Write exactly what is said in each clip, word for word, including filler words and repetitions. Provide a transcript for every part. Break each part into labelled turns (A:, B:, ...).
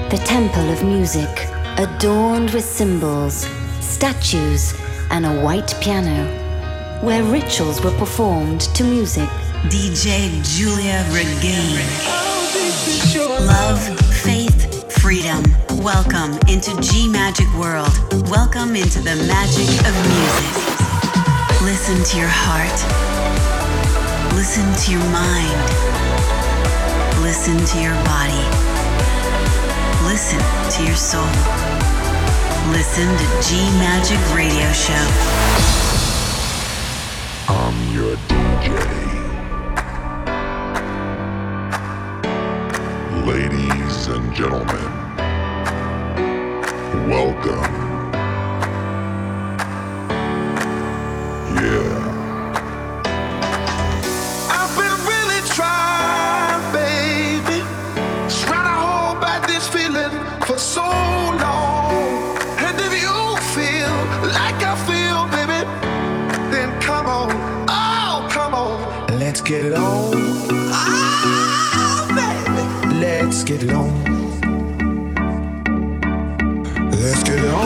A: the temple of music, adorned with symbols, statues, and a white piano, where rituals were performed to music.
B: D J Giulia Regain. Love, faith, freedom. Welcome into G Magic World. Welcome into the magic of music. Listen to your heart. Listen to your mind. Listen to your body. Listen to your soul. Listen to G Magic Radio Show.
C: I'm your D J. Ladies and gentlemen, welcome. Yeah.
D: I've been really trying, baby, trying to hold back this feeling for so long. And if you feel like I feel, baby, then come on, oh, come on. Let's get it on. Oh, baby. Let's get it on. Let's get it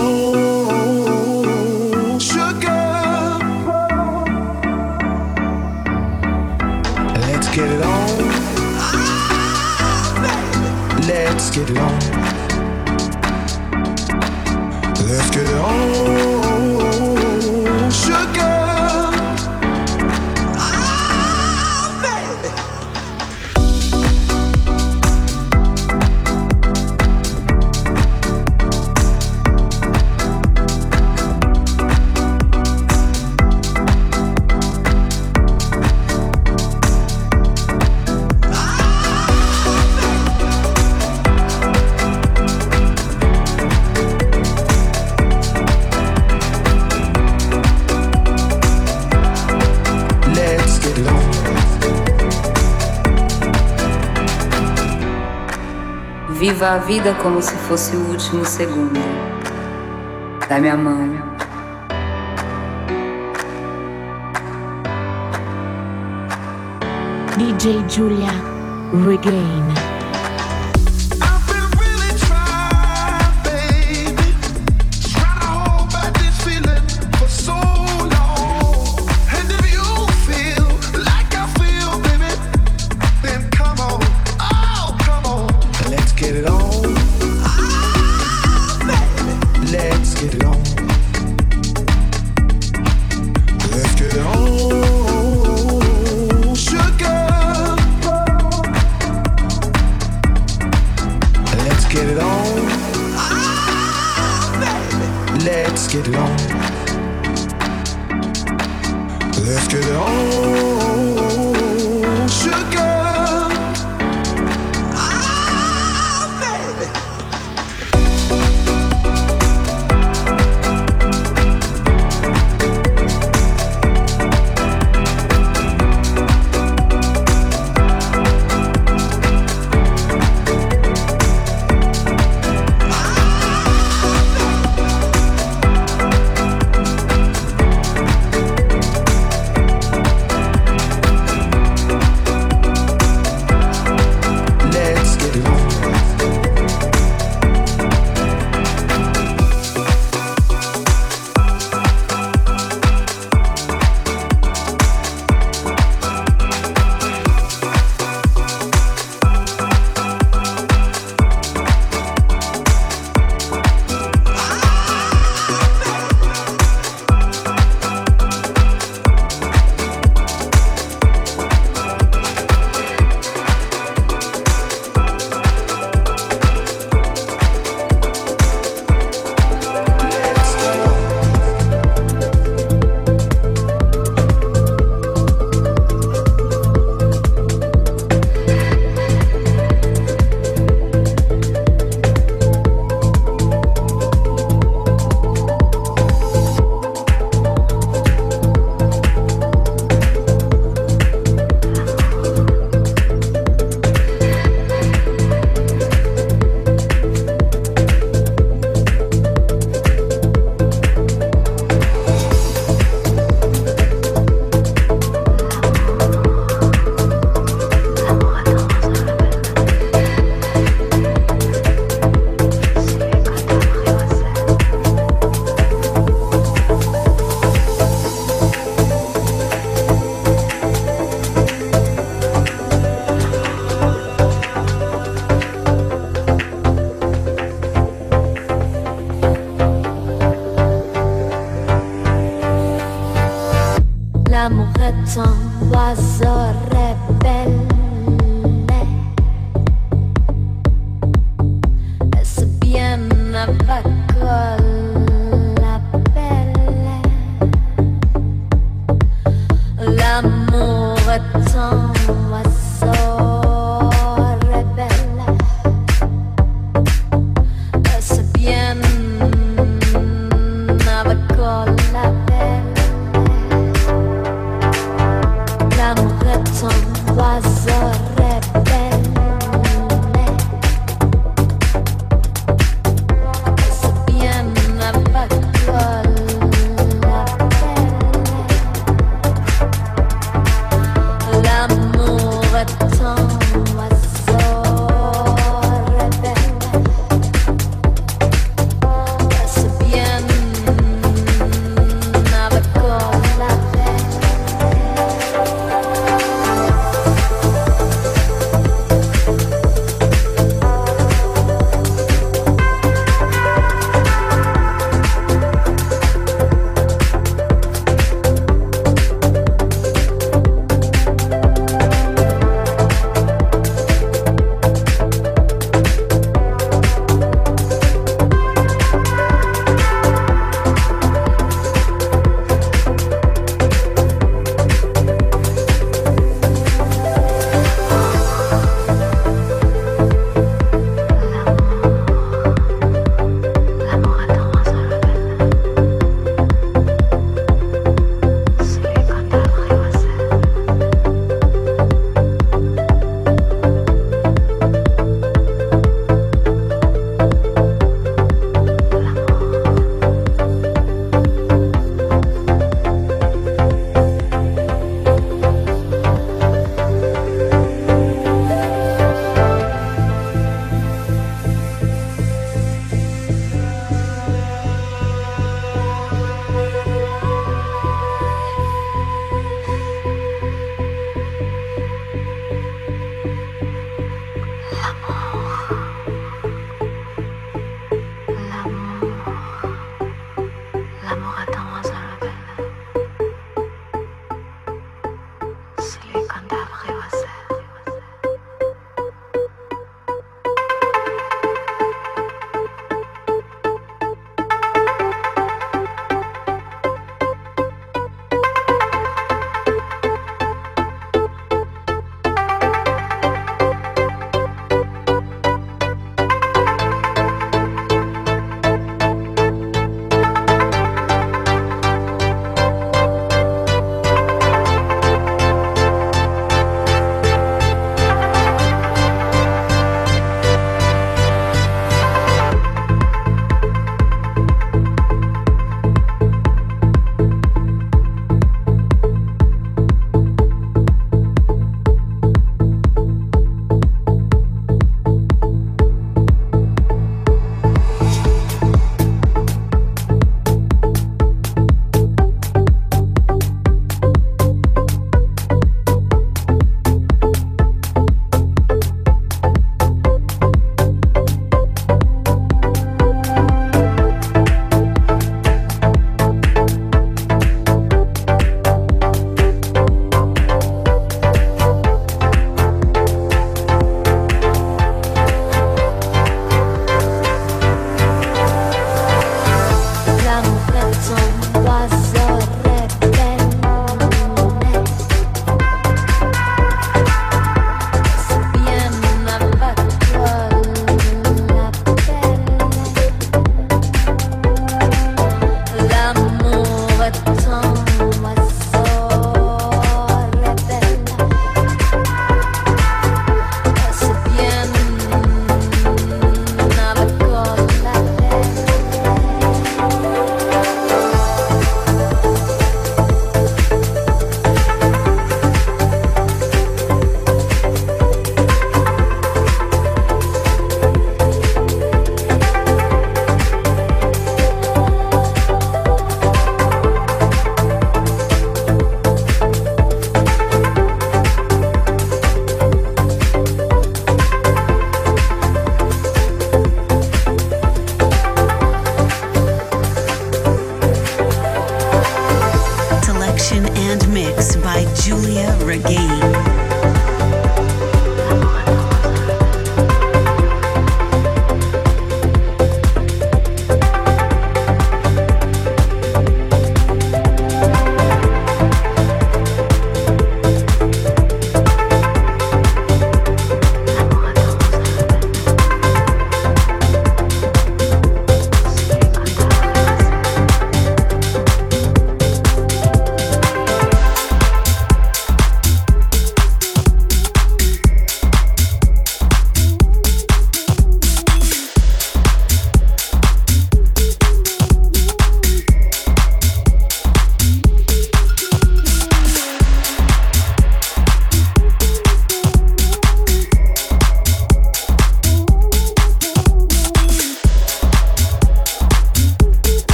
D: on. Sugar. Let's get it on. Oh, baby. Let's get it on. Let's get it on. Sugar.
E: Viva a vida como se fosse o último segundo. Dá-me a mão.
F: D J Giulia Regain.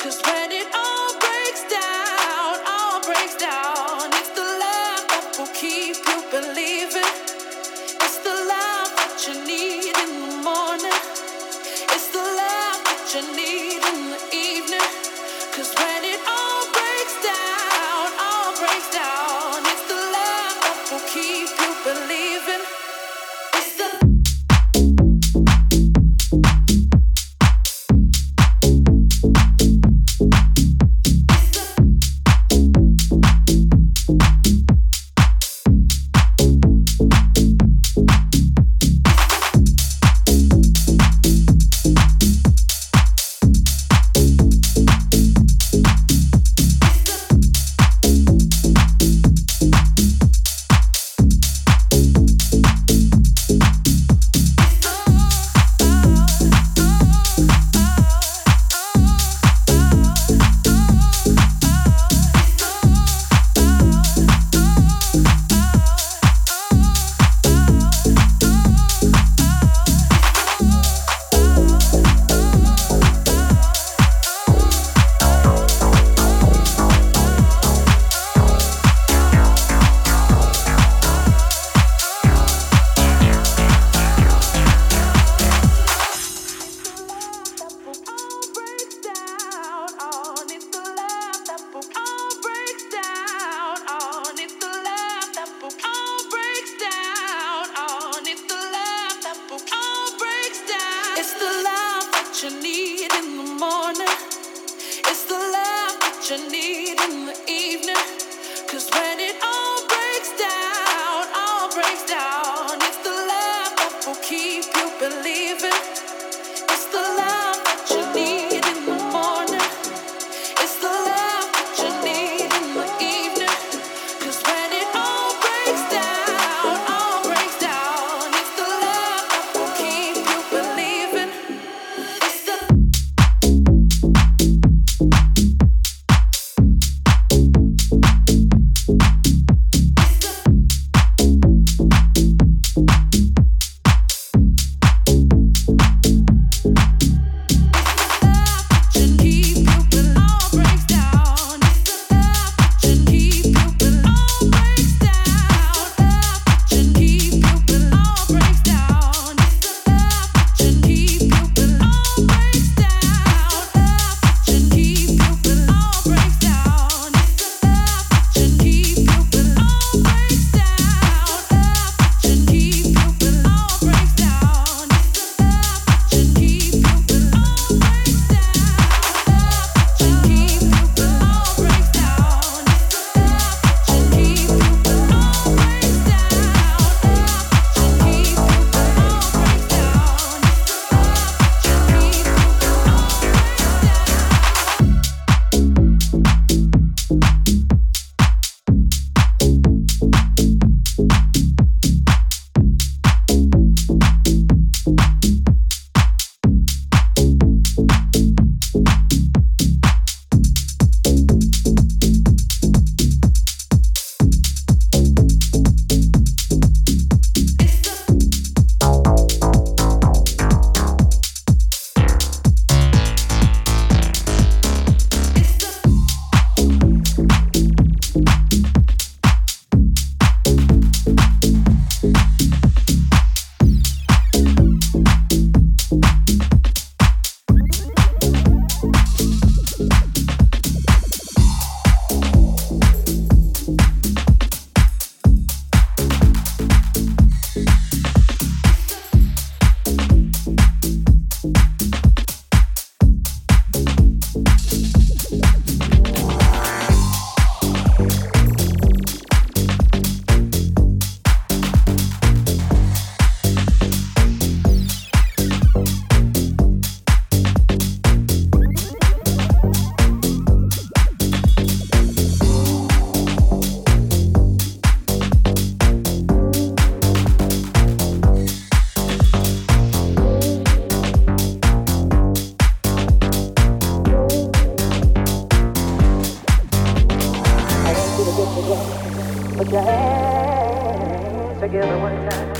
G: together one time.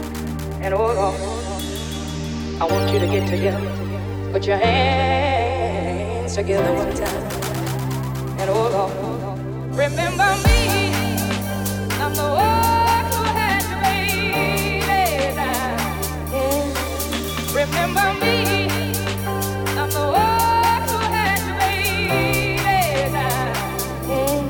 G: And hold on, I want you to get together. Put your hands together one time. And oh Lord, remember me. I'm the one who had to lay down. Mm. Remember me. I'm the one who had to lay down. Mm.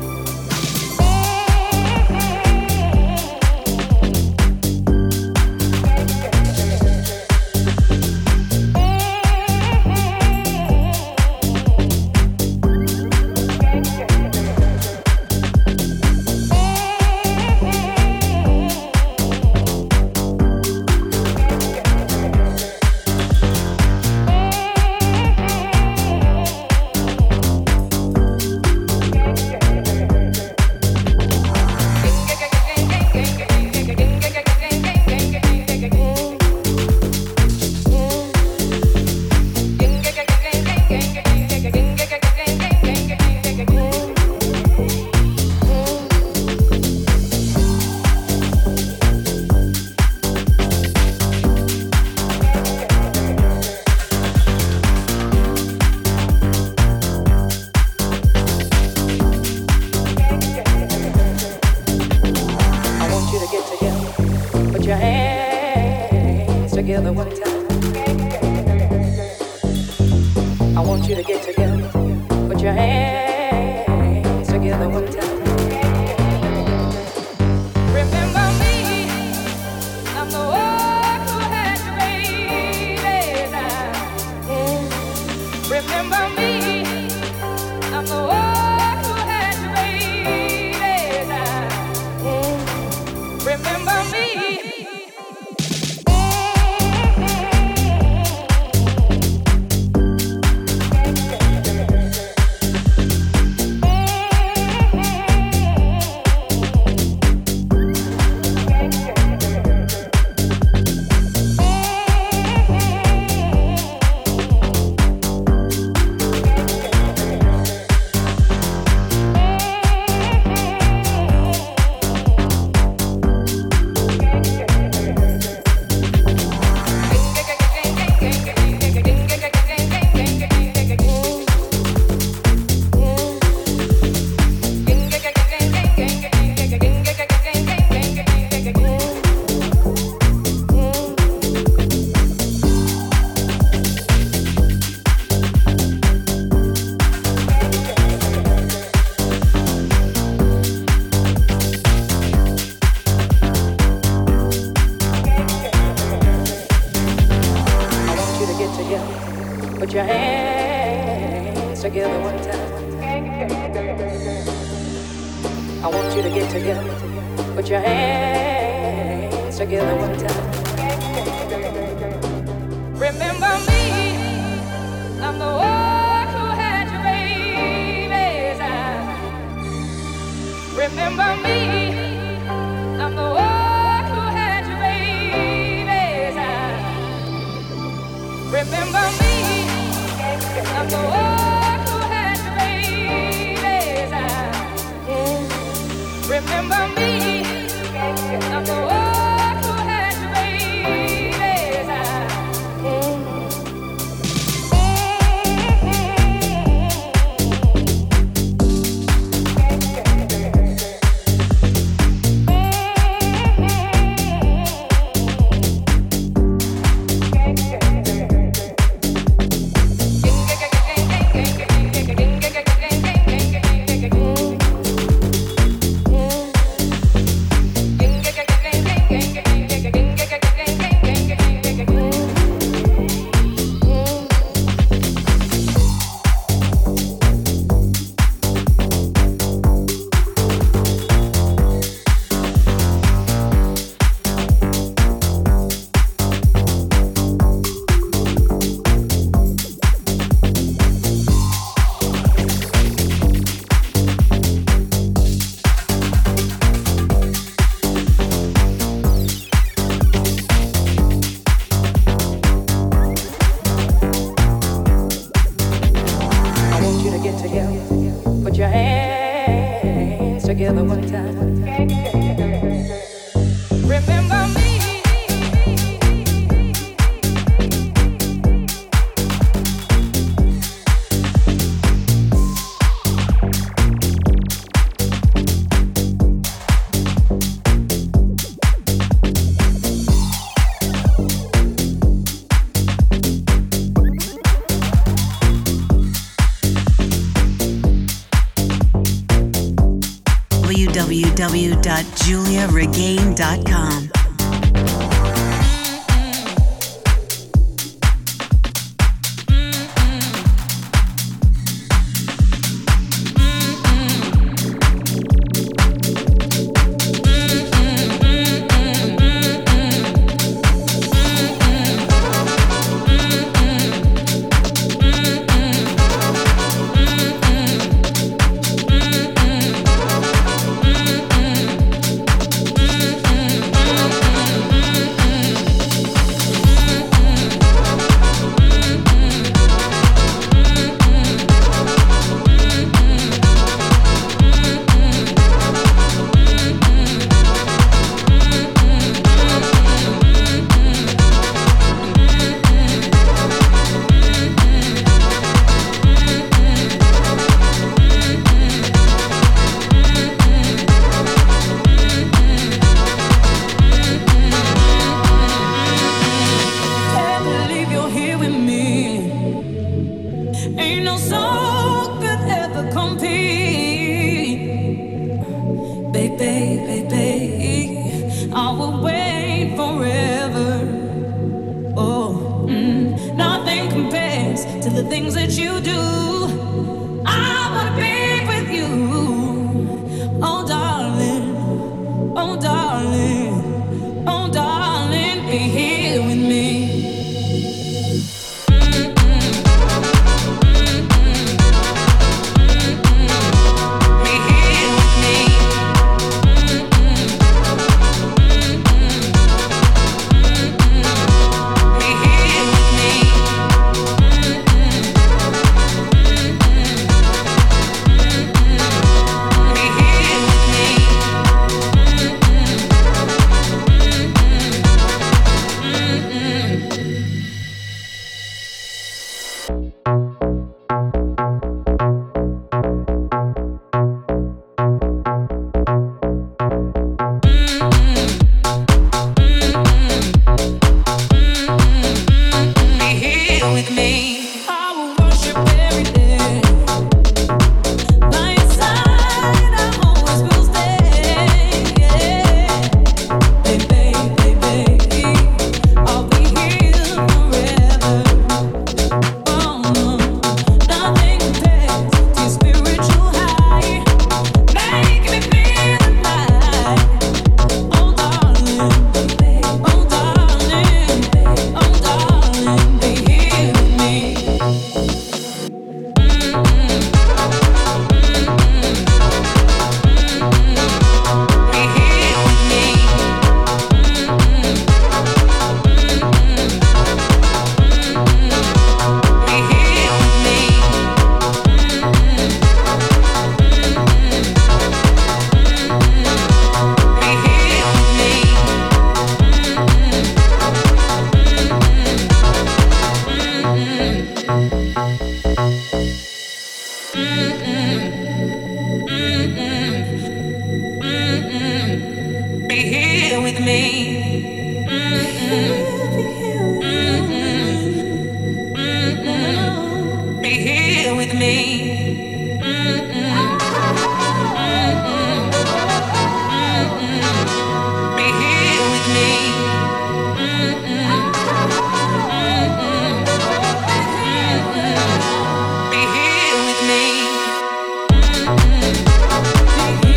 H: together one time. Remember me.
B: w w dot julia regain dot com.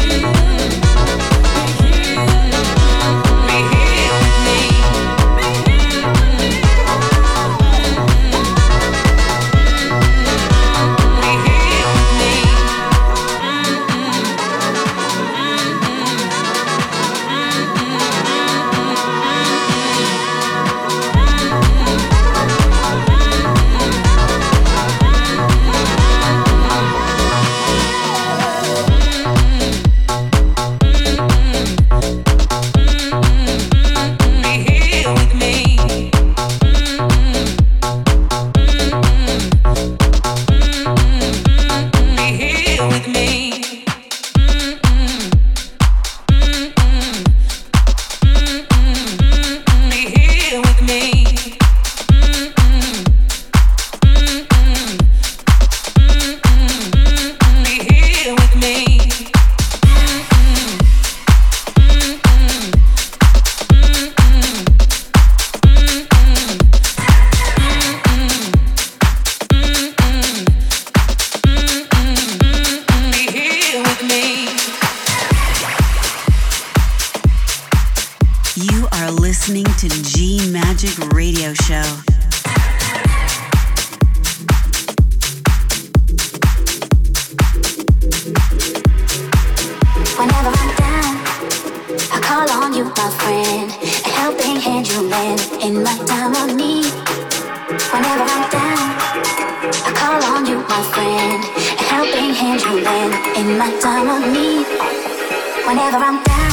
G: Be here with me.
A: my friend, a helping hand you lend in my time of need. Whenever I'm down, I call on you, my friend, a helping hand you lend in my time of need. Whenever I'm down.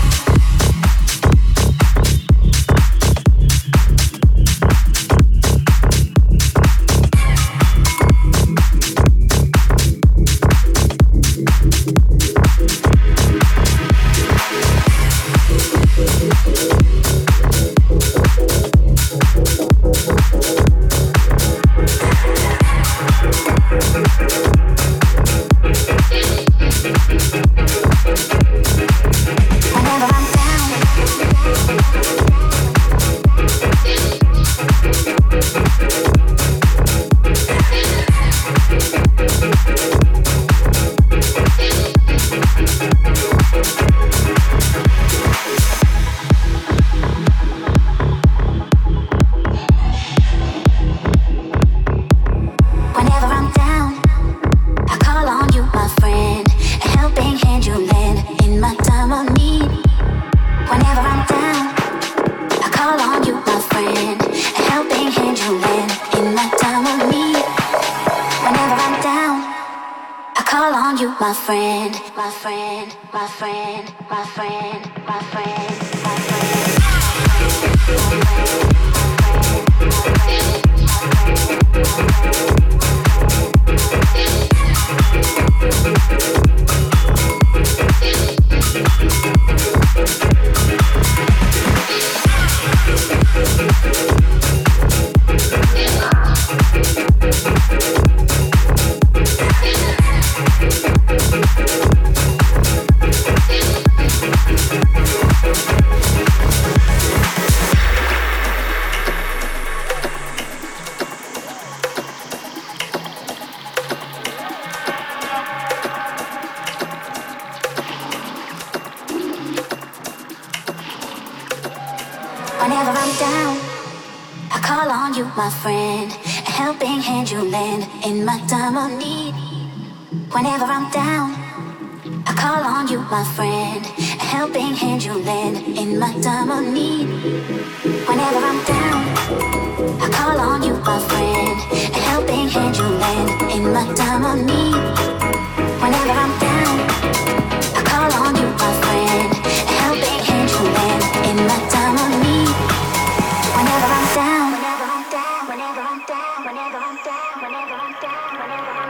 A: My friend, my friend, my friend, my friend, my friend, my friend. Whenever I'm down, I call on you, my friend, a helping hand you lend in my time of need. Whenever I'm down, I call on you, my friend, a helping hand you lend in my time of need. Whenever I'm down, I call on you, my friend, a helping hand you lend in my time of need. Whenever I'm down, I call on you, my friend, a helping hand you lend in my time of need. Whenever I'm down, whenever I'm down, whenever I'm down, whenever I'm down, whenever I'm down, whenever I'm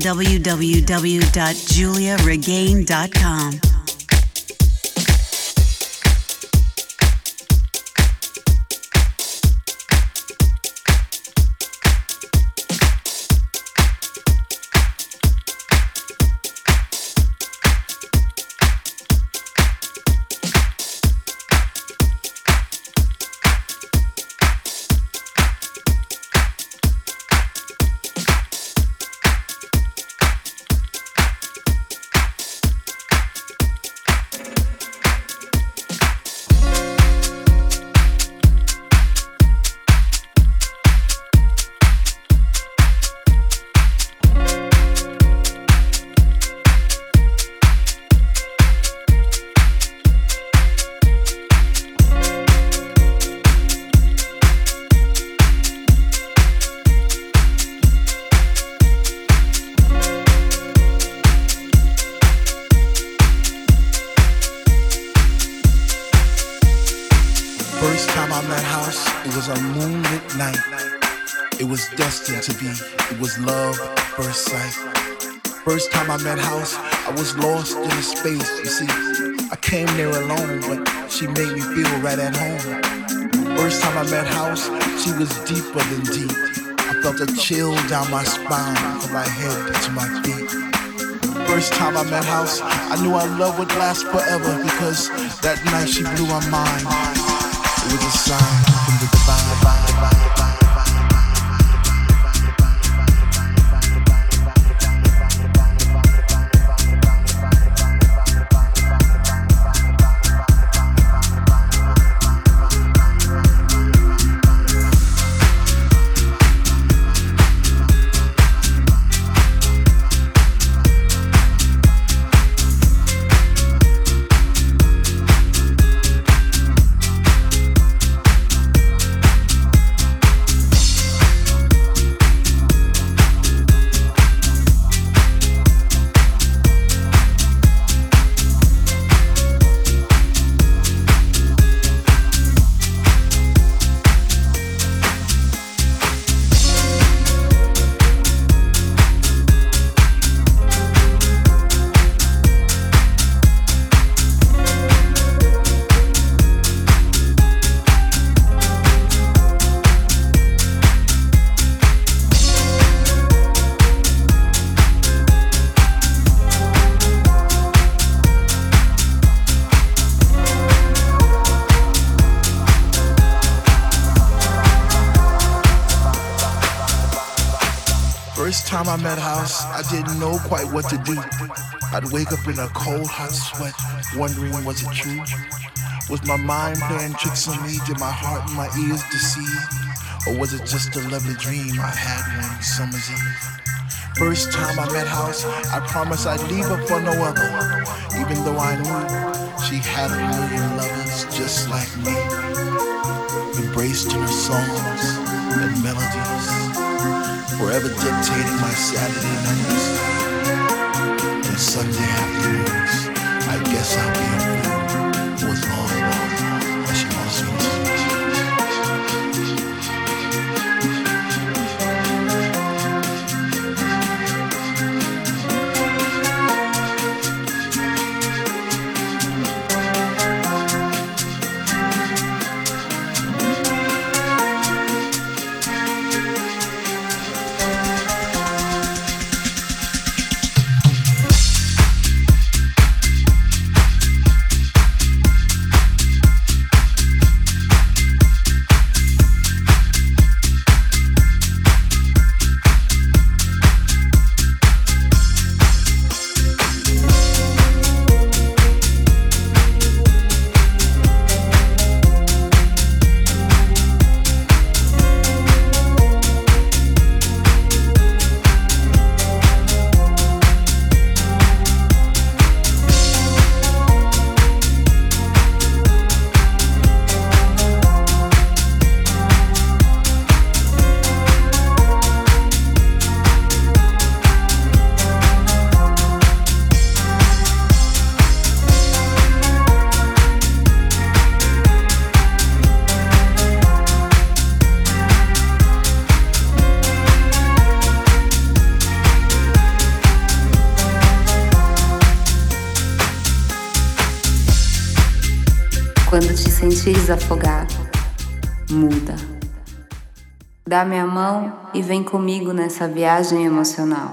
B: w w w dot julia regain dot com.
I: First time I met House, I was lost in space. You see, I came there alone, but she made me feel right at home. First time I met House, she was deeper than deep. I felt a chill down my spine, from my head to my feet. First time I met House, I knew our love would last forever, because that night she blew my mind. It was a sign from the divine, divine, divine, divine. Time I met House, I didn't know quite what to do. I'd wake up in a cold, hot sweat, wondering was it true? Was my mind playing tricks on me? Did my heart and my ears deceive? Or was it just a lovely dream I had one summer's eve? First time I met House, I promised I'd leave her for no other, even though I knew she had a million lovers just like me, embraced in her songs and melodies, forever dictating my Saturday nights and Sunday afternoons. I guess I'll be a fool for as long as she wants me to.
E: Quando te sentires afogar, muda. Dá minha mão e vem comigo nessa viagem emocional.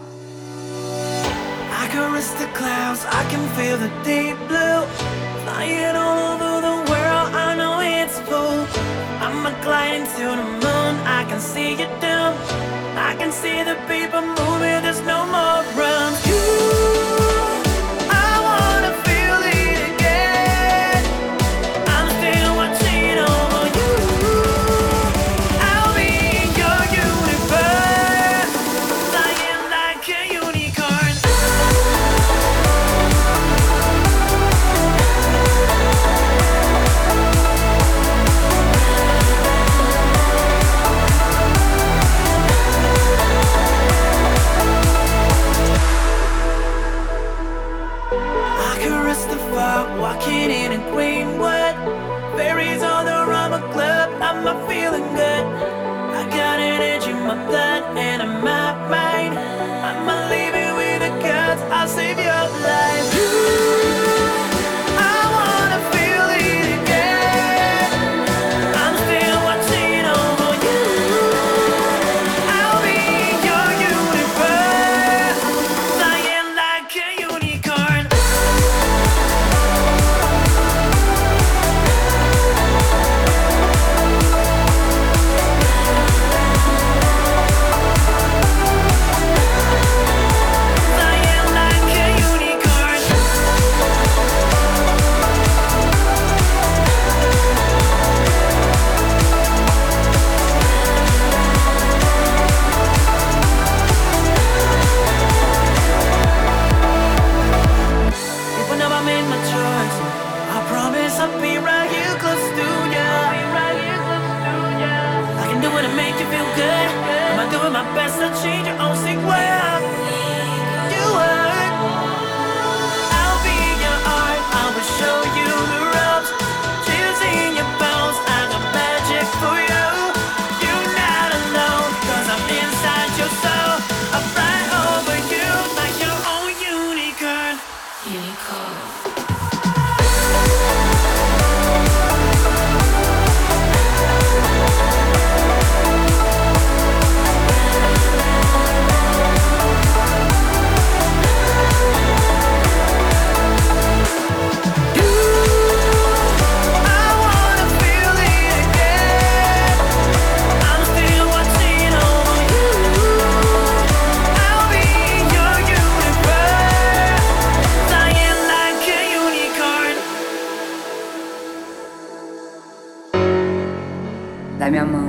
J: I can reach the clouds, I can feel the deep blue, flying all over the world, I know it's full. I'm a glide into the moon, I can see you down, I can see the people moving, there's no more run. You walking in in Queenwood, berries on the Rama Club, I'm not feeling good. I got an edge in my blood and in my mind, I'm not leaving with the gods, I'll save your life. I wanna feel it again, I'm still watching over you. I'll be in your universe, flying like a unicorn. I'll be right here close to you. I can do it to make you feel good. I'm doing my best to change your own sick world. You are. I'll be your art. I will show you the ropes. Chills in your bones. I got magic for you. You're not alone, cause I'm inside your soul. I fly over you like your own unicorn. Unicorn.
E: Dá minha mão.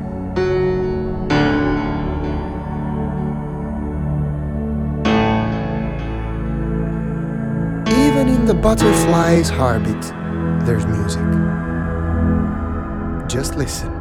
K: Even in the butterfly's heartbeat, there's music. Just listen.